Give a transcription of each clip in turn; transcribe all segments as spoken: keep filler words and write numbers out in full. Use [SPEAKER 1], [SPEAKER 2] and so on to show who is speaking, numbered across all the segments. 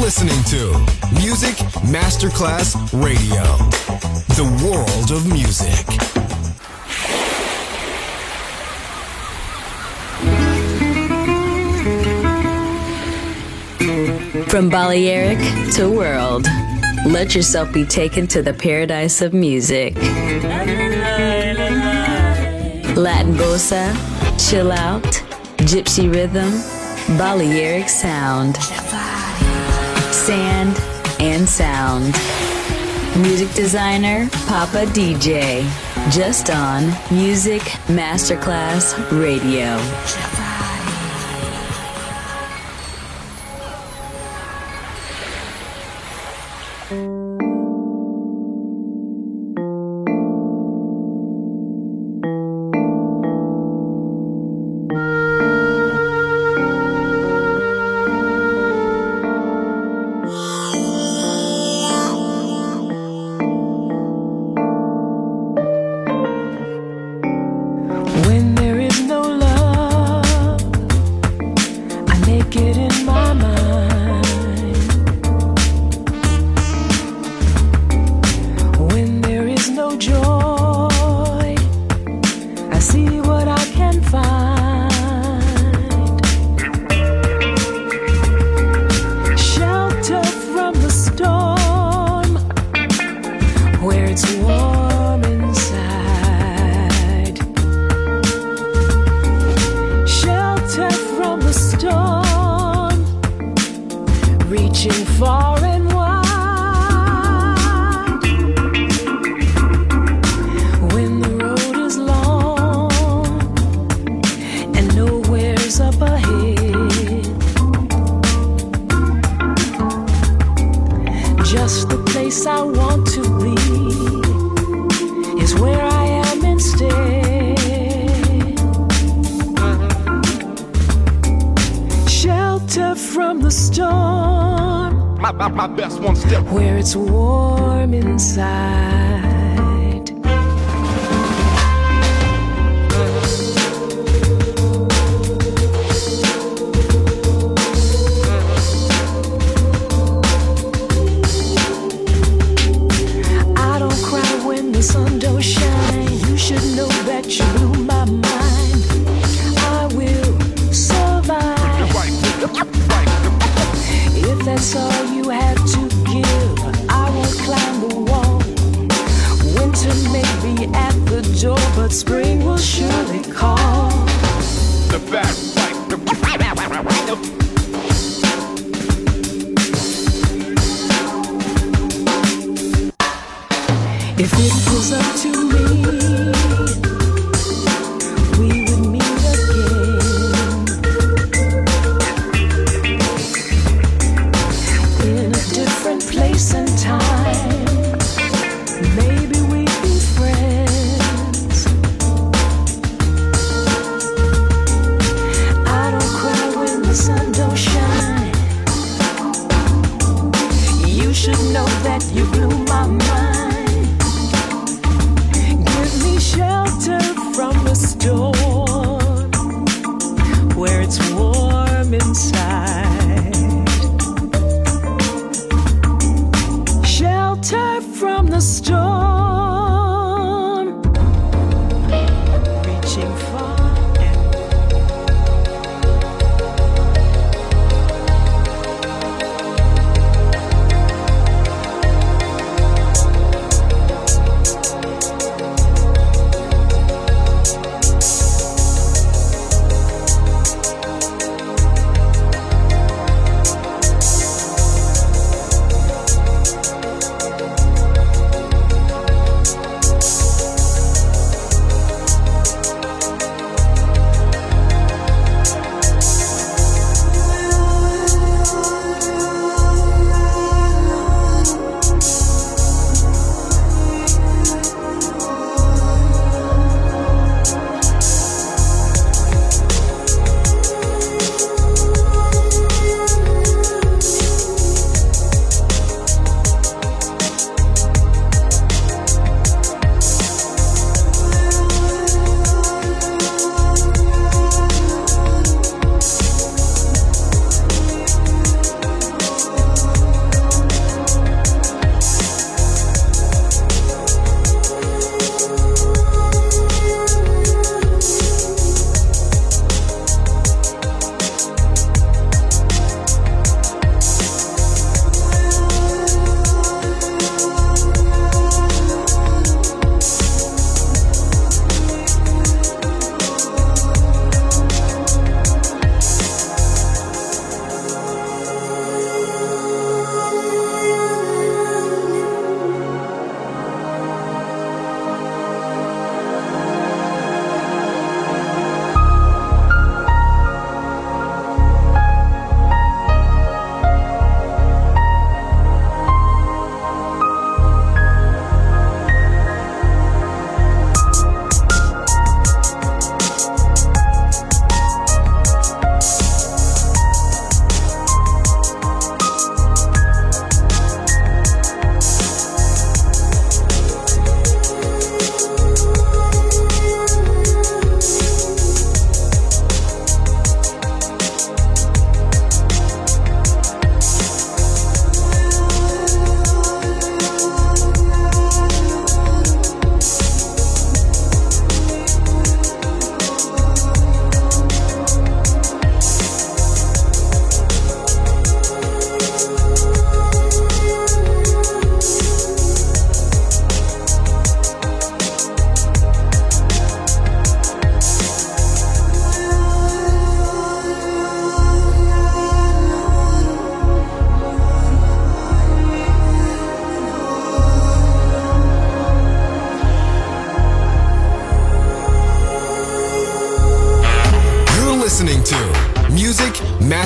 [SPEAKER 1] listening to Music Masterclass Radio, the world of music.
[SPEAKER 2] From Balearic to world, let yourself be taken to the paradise of music. Latin bossa, chill out, gypsy rhythm, Balearic sound, sand and sound. Music designer, Papa D J, just on Music Masterclass Radio.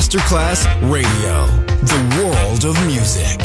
[SPEAKER 1] Masterclass Radio, the world of music.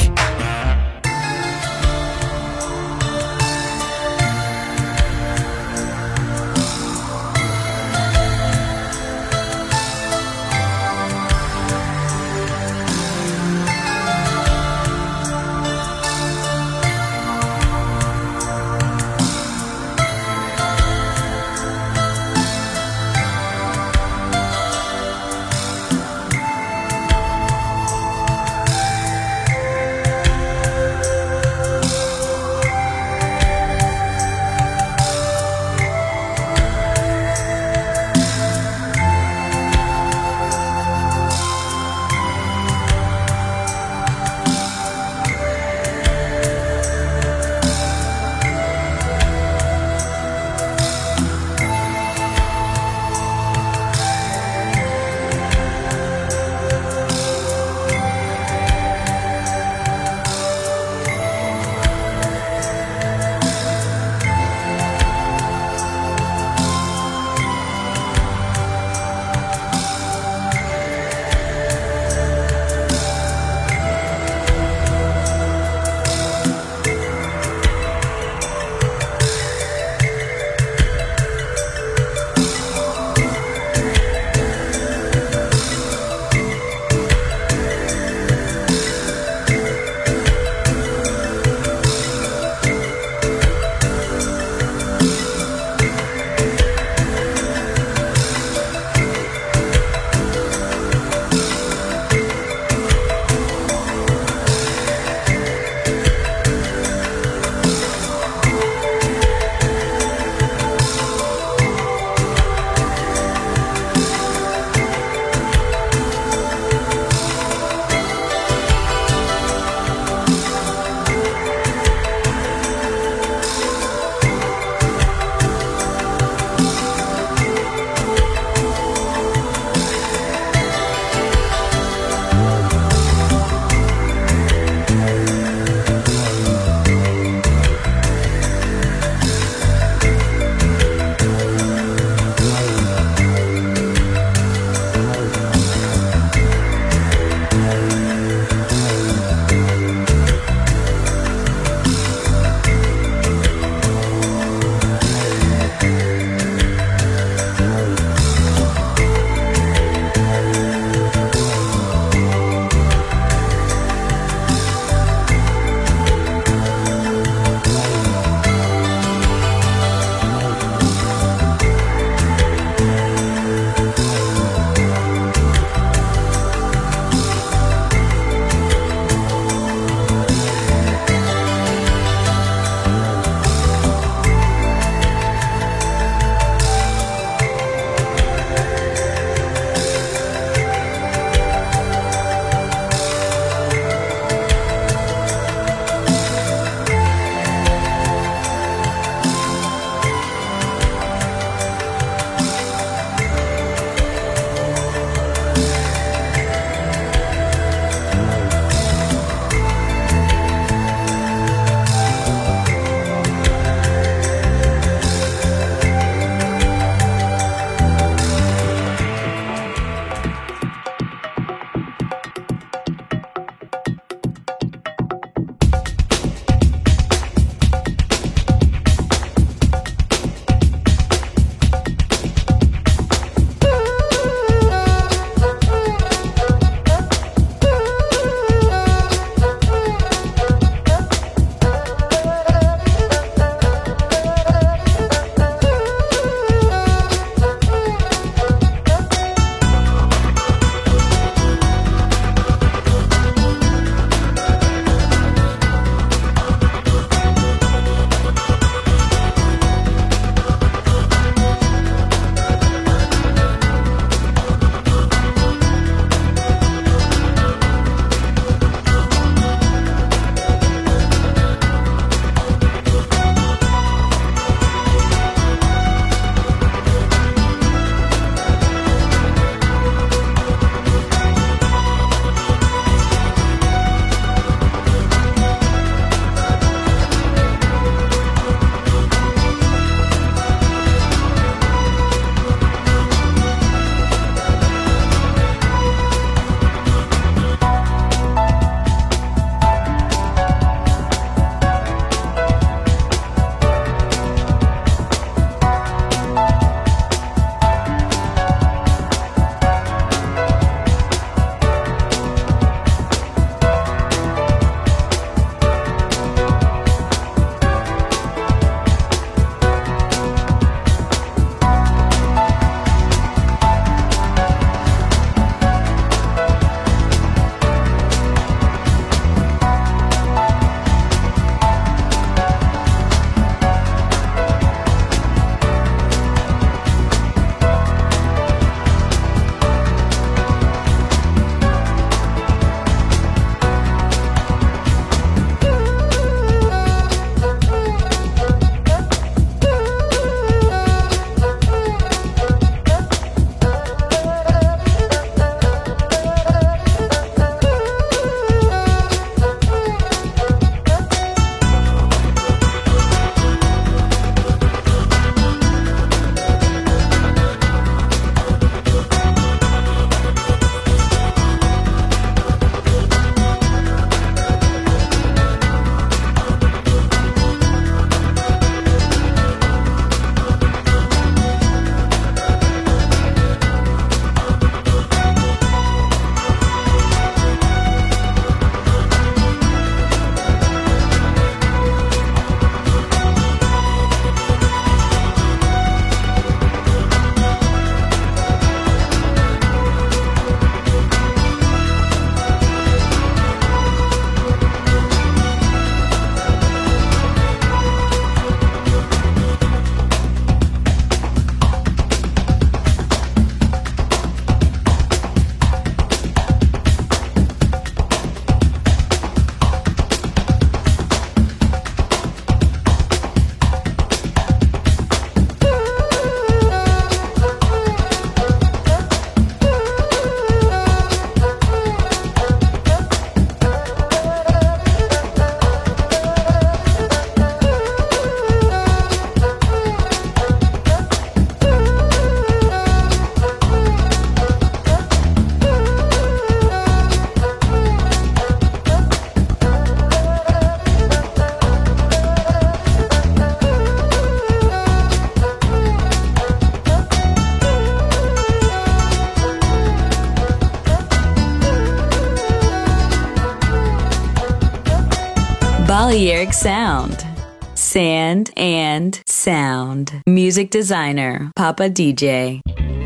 [SPEAKER 2] Balearic Sound. Sand and Sound. Music designer, Papa D J.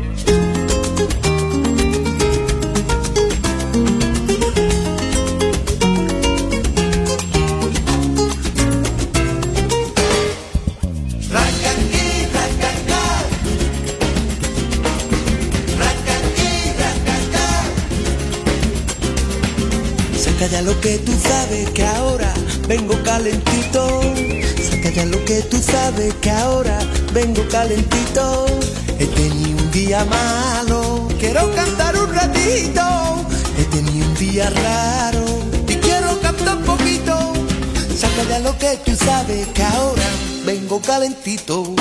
[SPEAKER 3] Saca ya lo que tú sabes que ahora vengo calentito. Saca ya lo que tú sabes que ahora vengo calentito. He tenido un día malo, quiero cantar un ratito. He tenido un día raro y quiero cantar un poquito. Saca ya lo que tú sabes que ahora vengo calentito.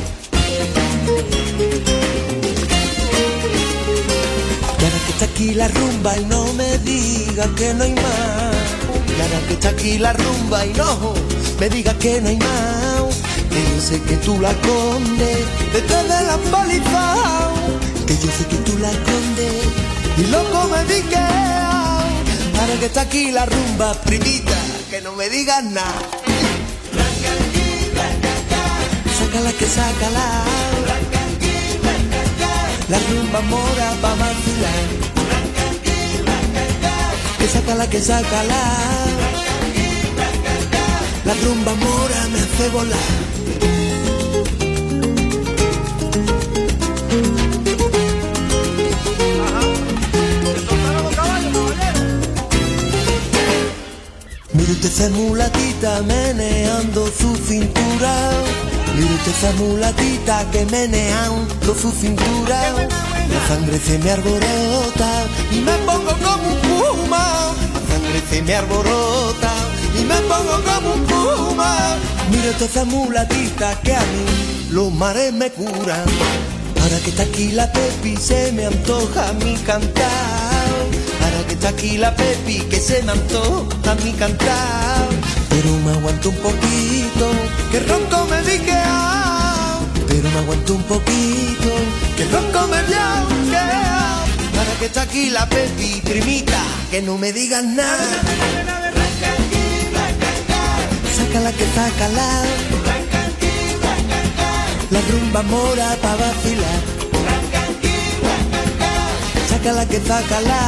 [SPEAKER 3] Y ahora que está aquí la rumba y no me digas que no hay más. Y ahora que está aquí la rumba y no me digas que no hay más. Que yo sé que tú la escondes detrás de la paliza. Que yo sé que tú la escondes y loco me digas. Ahora que está aquí la rumba, primita, que no me digas nada. Sácala que sácala. La rumba mora pa' vacilar. Que sácala, que sácala. La rumba mora me hace volar. Mire usted esa mulatita meneando su cintura. Mire usted esa mulatita que meneando su cintura. La sangre se me alborota y me pongo como un puma. La sangre se me alborota y me pongo como un puma. Mire usted esa mulatita que a mí los mares me curan. Ahora que está aquí la Pepi se me antoja a mí cantar. Ahora que está aquí la Pepi que se me antoja a mí cantar. Pero me aguanto un poquito, que ronco me dique. Pero me aguanto un poquito, que ronco me viao, que ahora que está aquí la Pepi, primita, que no me digas nada. Sácala que sácala. La rumba mora pa' vacilar. Sácala que sácala.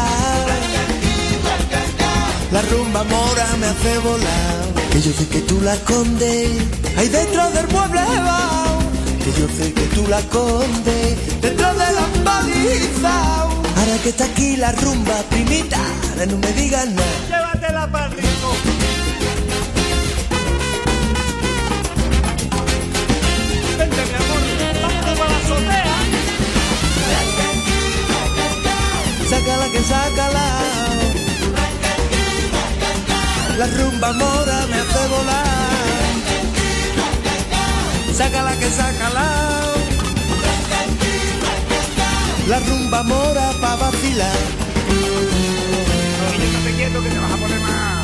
[SPEAKER 3] La rumba mora me hace volar. Que yo sé que tú la escondes ahí dentro del mueble. Que yo sé que tú la escondes dentro de la paliza. Ahora que está aquí la rumba, primita, no me digas nada.
[SPEAKER 4] Llévatela pa'l rico. Vente, mi amor, vamos para la azotea.
[SPEAKER 3] Sácala que sácala. La rumba mora me hace volar. Sácala que sácala. La rumba mora pa' vacilar.
[SPEAKER 4] Oye, estate quieto que te vas a poner mal.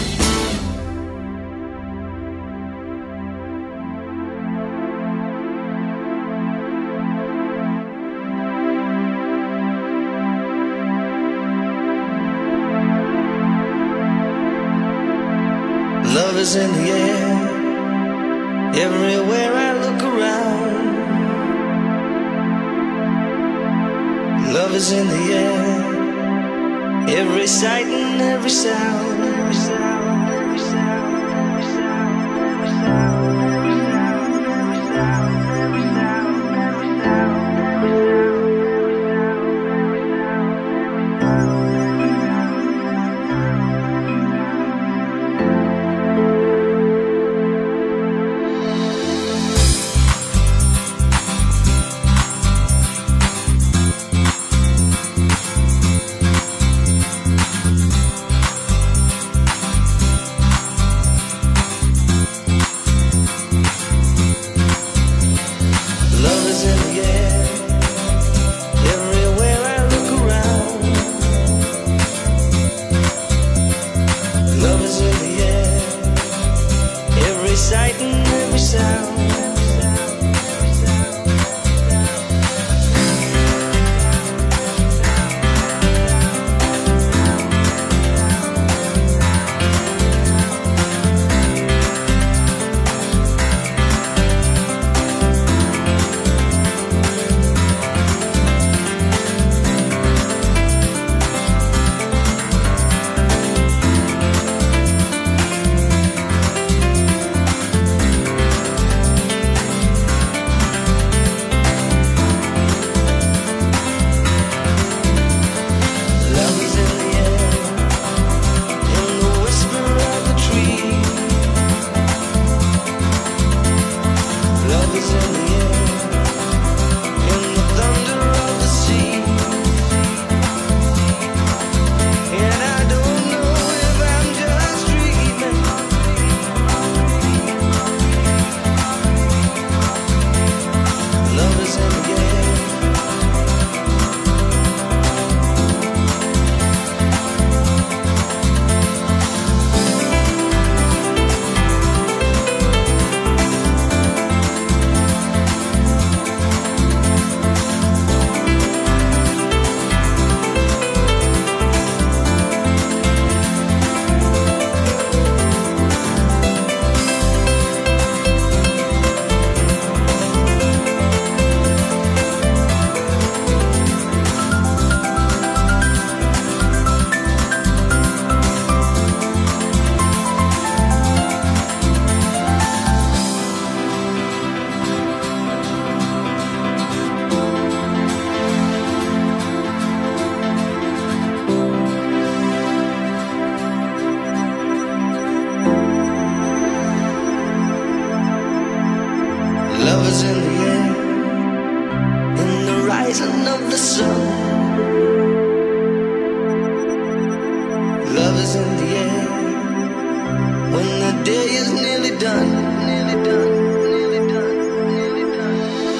[SPEAKER 3] Love is in the air, everywhere I look around. Love is in the air, every sight and every sound, every sound, every sound, every sound, every sound, every sound, every sound, every sound, every sound, every sound. day is nearly done, nearly done, nearly done, nearly done,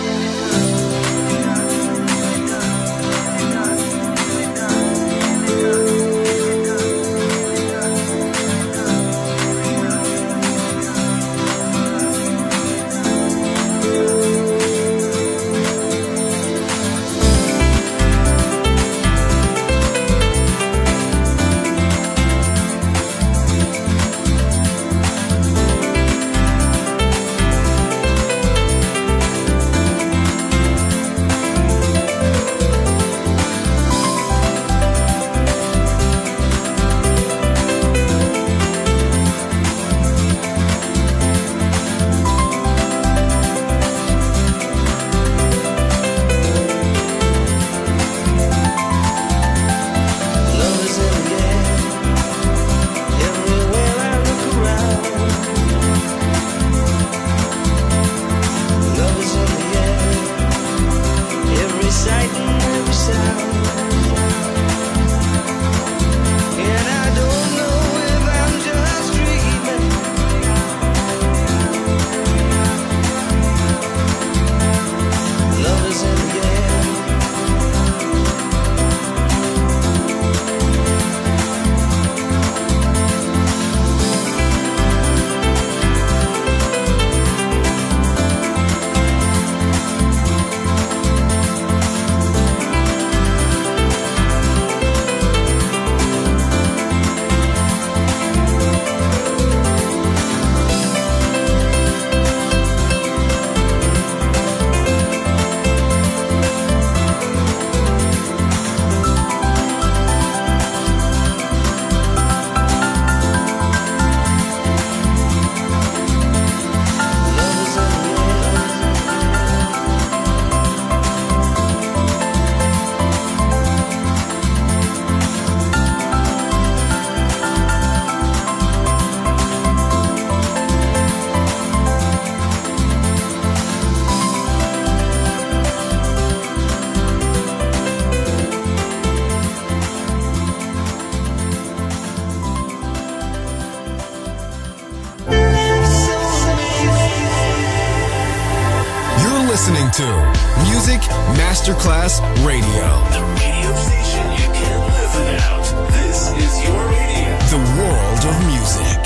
[SPEAKER 1] listening to Music Masterclass Radio.
[SPEAKER 5] The radio station you can't live without. This is your radio.
[SPEAKER 1] The world of music.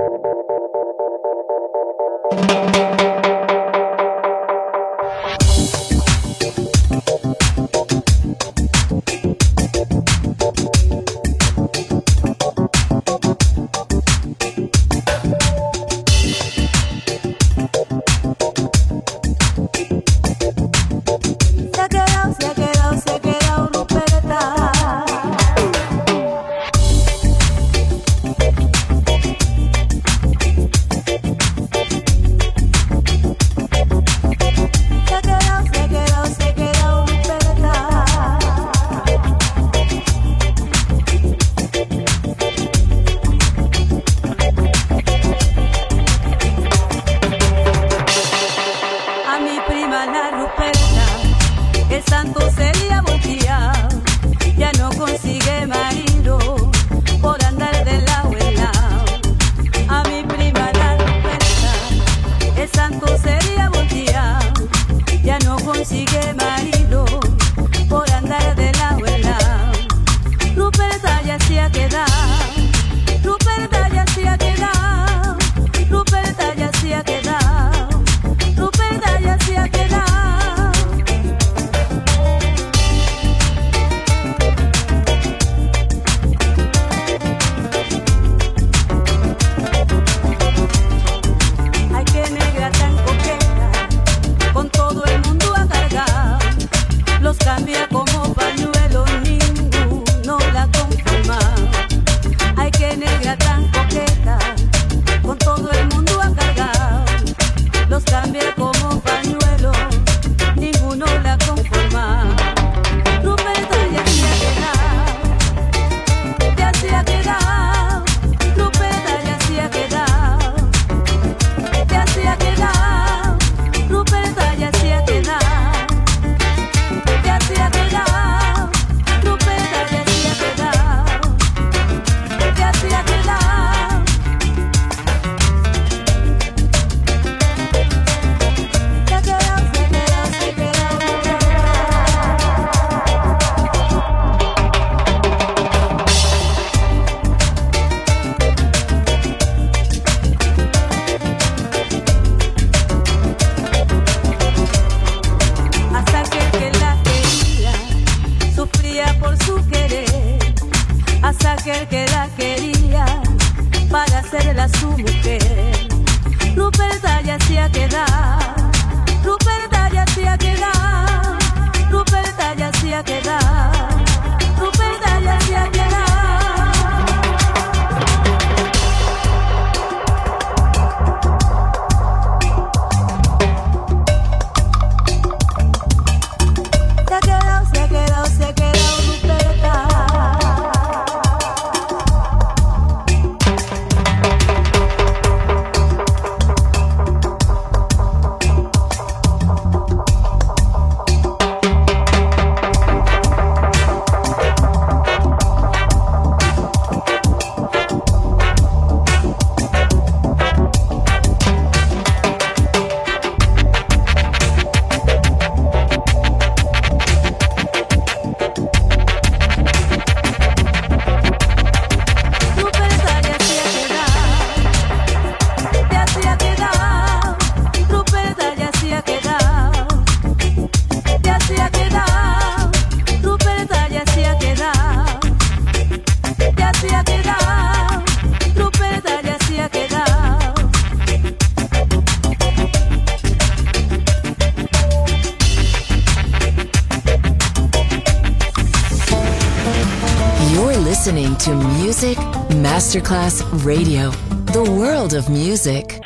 [SPEAKER 6] listening to Music Masterclass Radio, the world of music.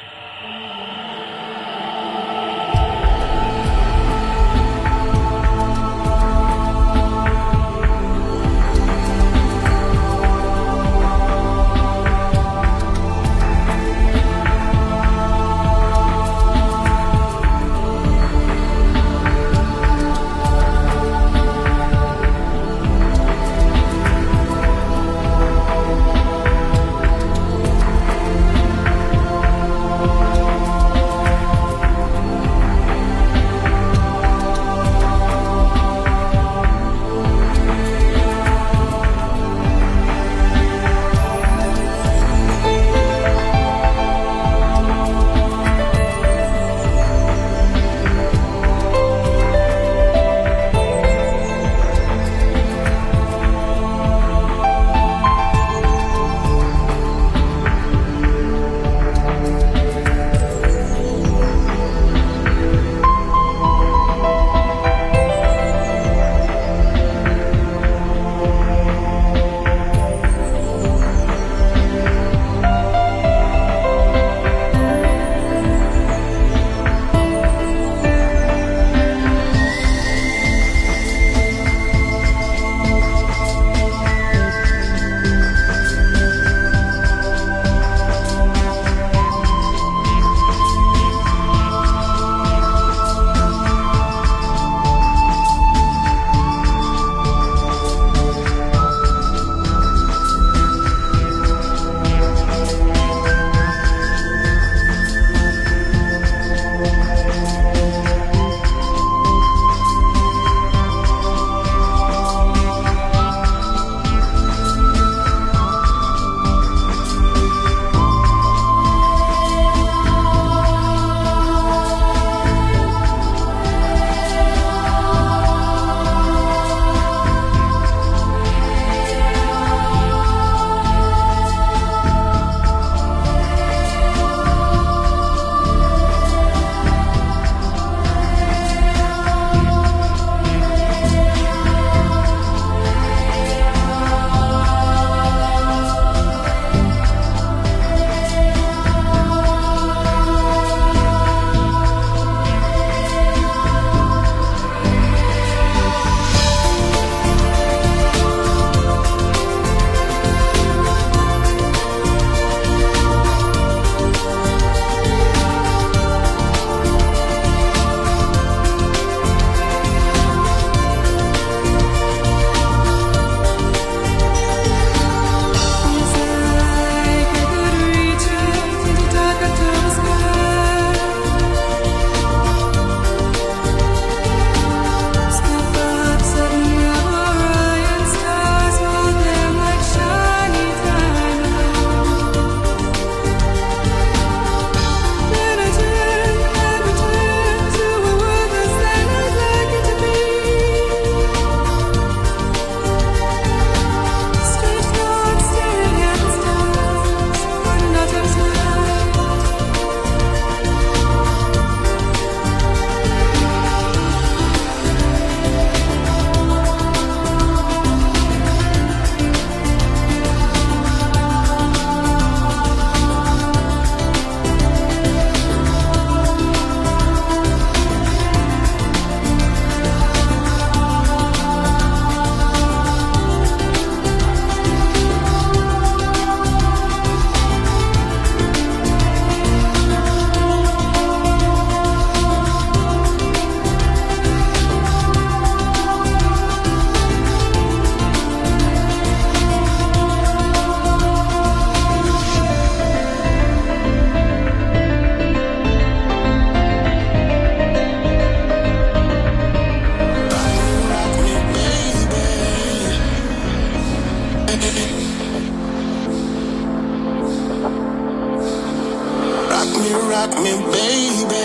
[SPEAKER 7] me, rock me, baby.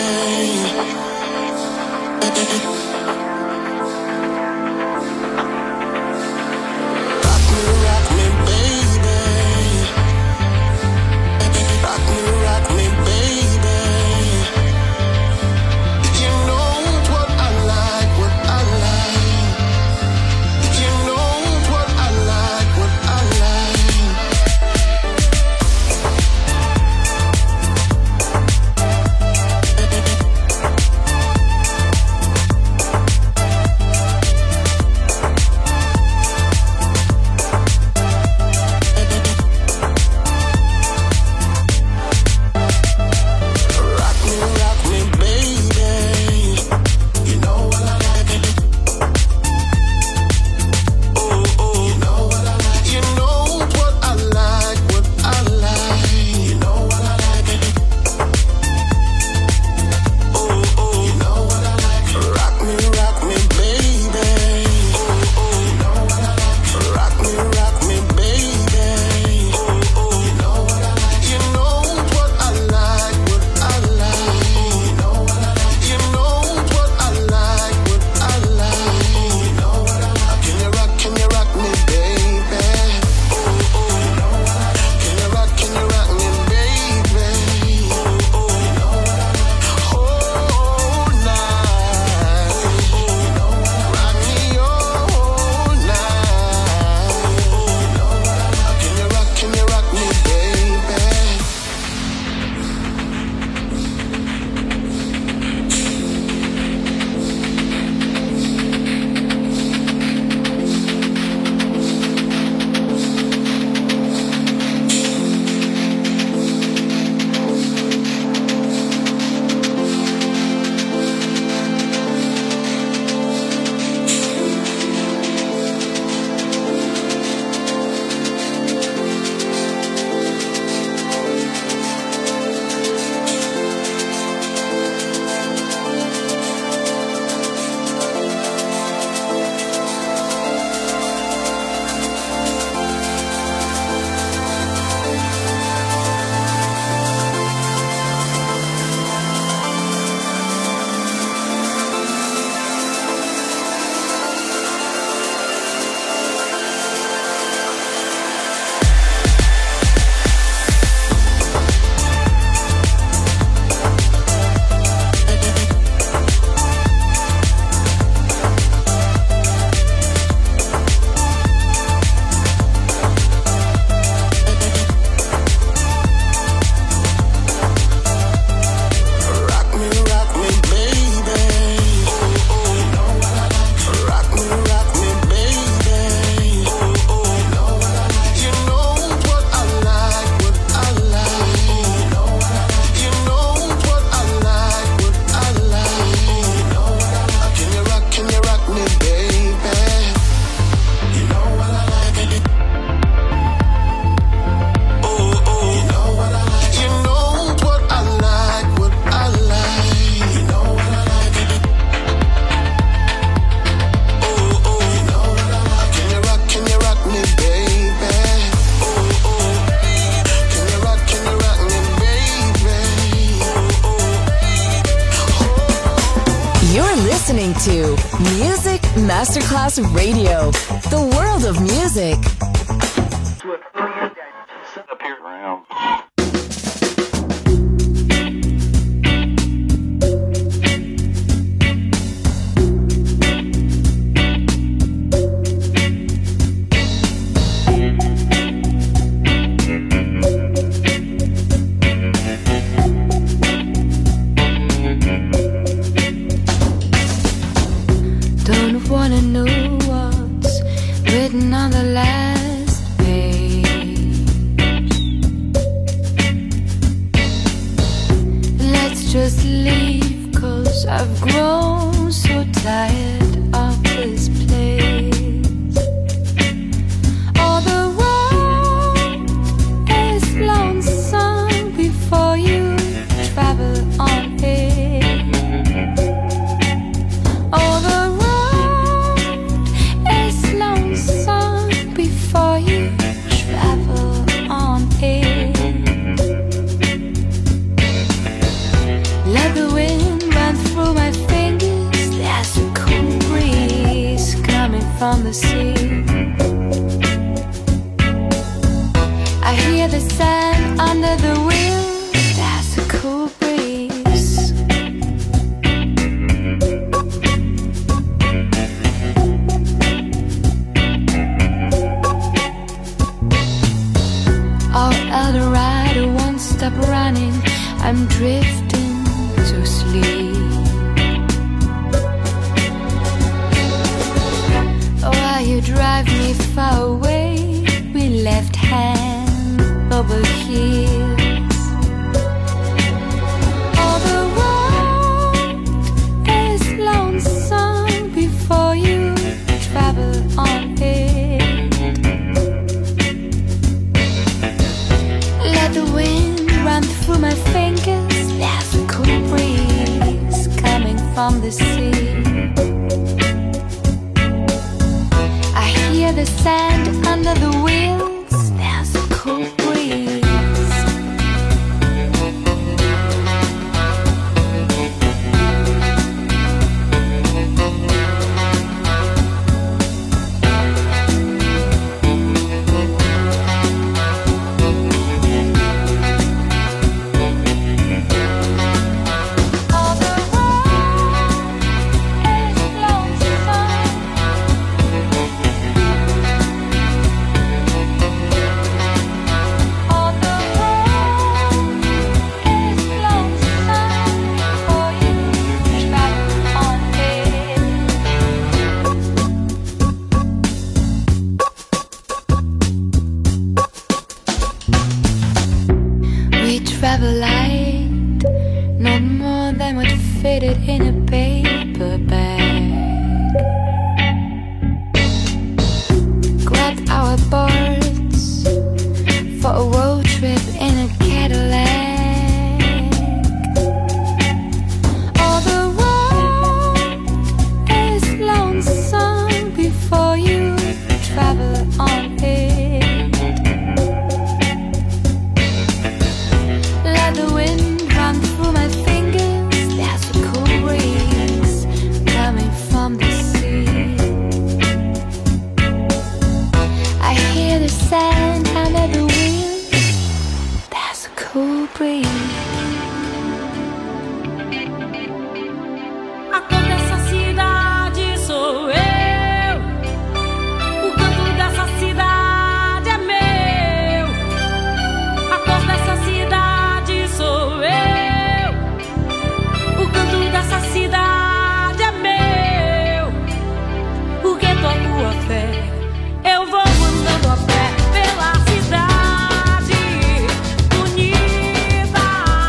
[SPEAKER 6] listening to Music Masterclass Radio, the world of music.
[SPEAKER 8] Wanna know what's written on the last page. Let's just leave, 'cause I've grown so tired of this place. All the road is lonesome before you travel on it. All the before you travel on it. sand under the wheels. There's a cool breeze. Our Eldorado won't stop running. I'm drifting to sleep. While you drive me far away, we left hand over heels. All the world is lonesome before you travel on it. Let the wind run through my fingers. There's a cool breeze coming from the sea. I hear the sand under the wheels. There's a cool breeze. Travel light, not more than what fitted in a paper bag. Grabbed our boards for a road trip in a Cadillac. All the world is lonesome before you travel on it. The wind run through my fingers. There's a cool breeze coming from the sea. I hear the sand under the wheels. There's a cool breeze.
[SPEAKER 9] A cor dessa cidade sou eu. O canto dessa cidade é meu. A cor dessa cidade sou eu. O canto dessa cidade é meu. O gueto, a rua, a fé. Eu vou andando a pé pela cidade bonita.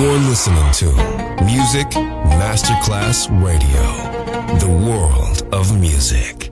[SPEAKER 1] You're listening to Music Masterclass Radio, the world of music.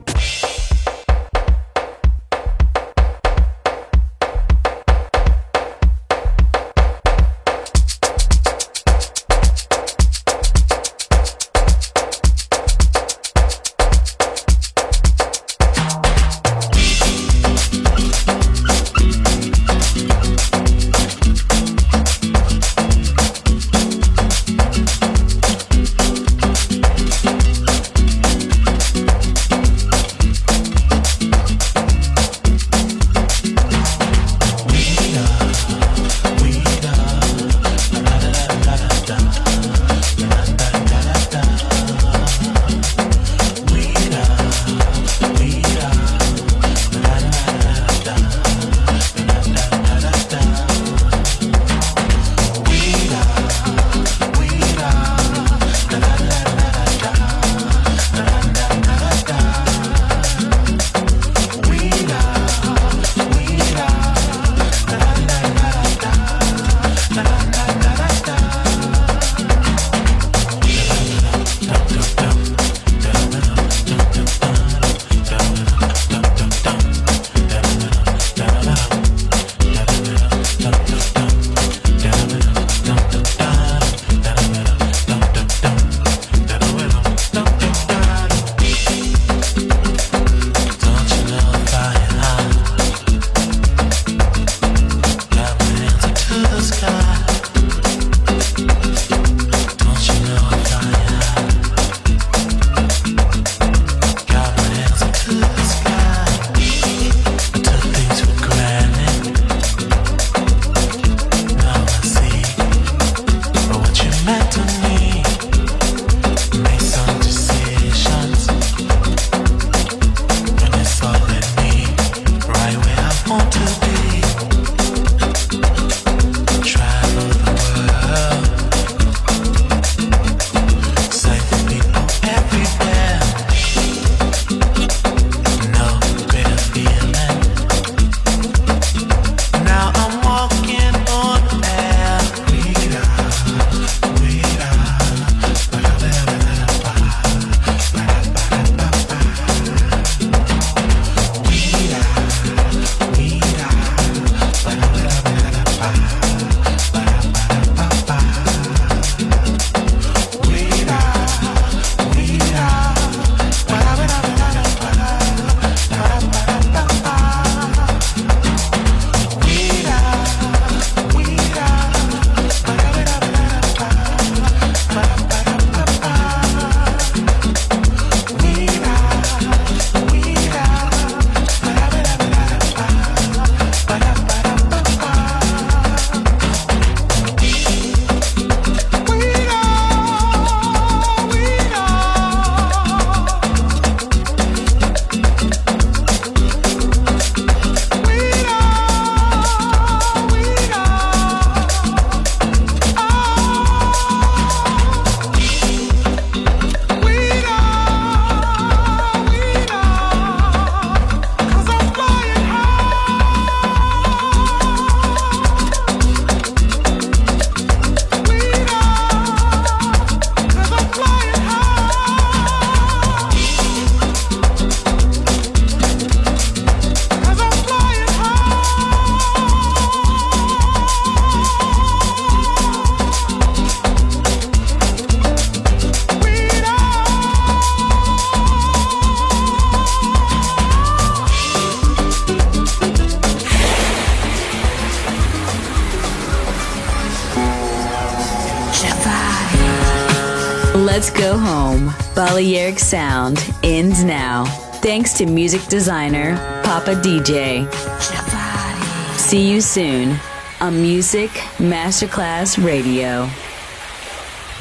[SPEAKER 2] Let's go home. Balearic Sound ends now. Thanks to music designer Papa D J. See you soon on Music Masterclass Radio.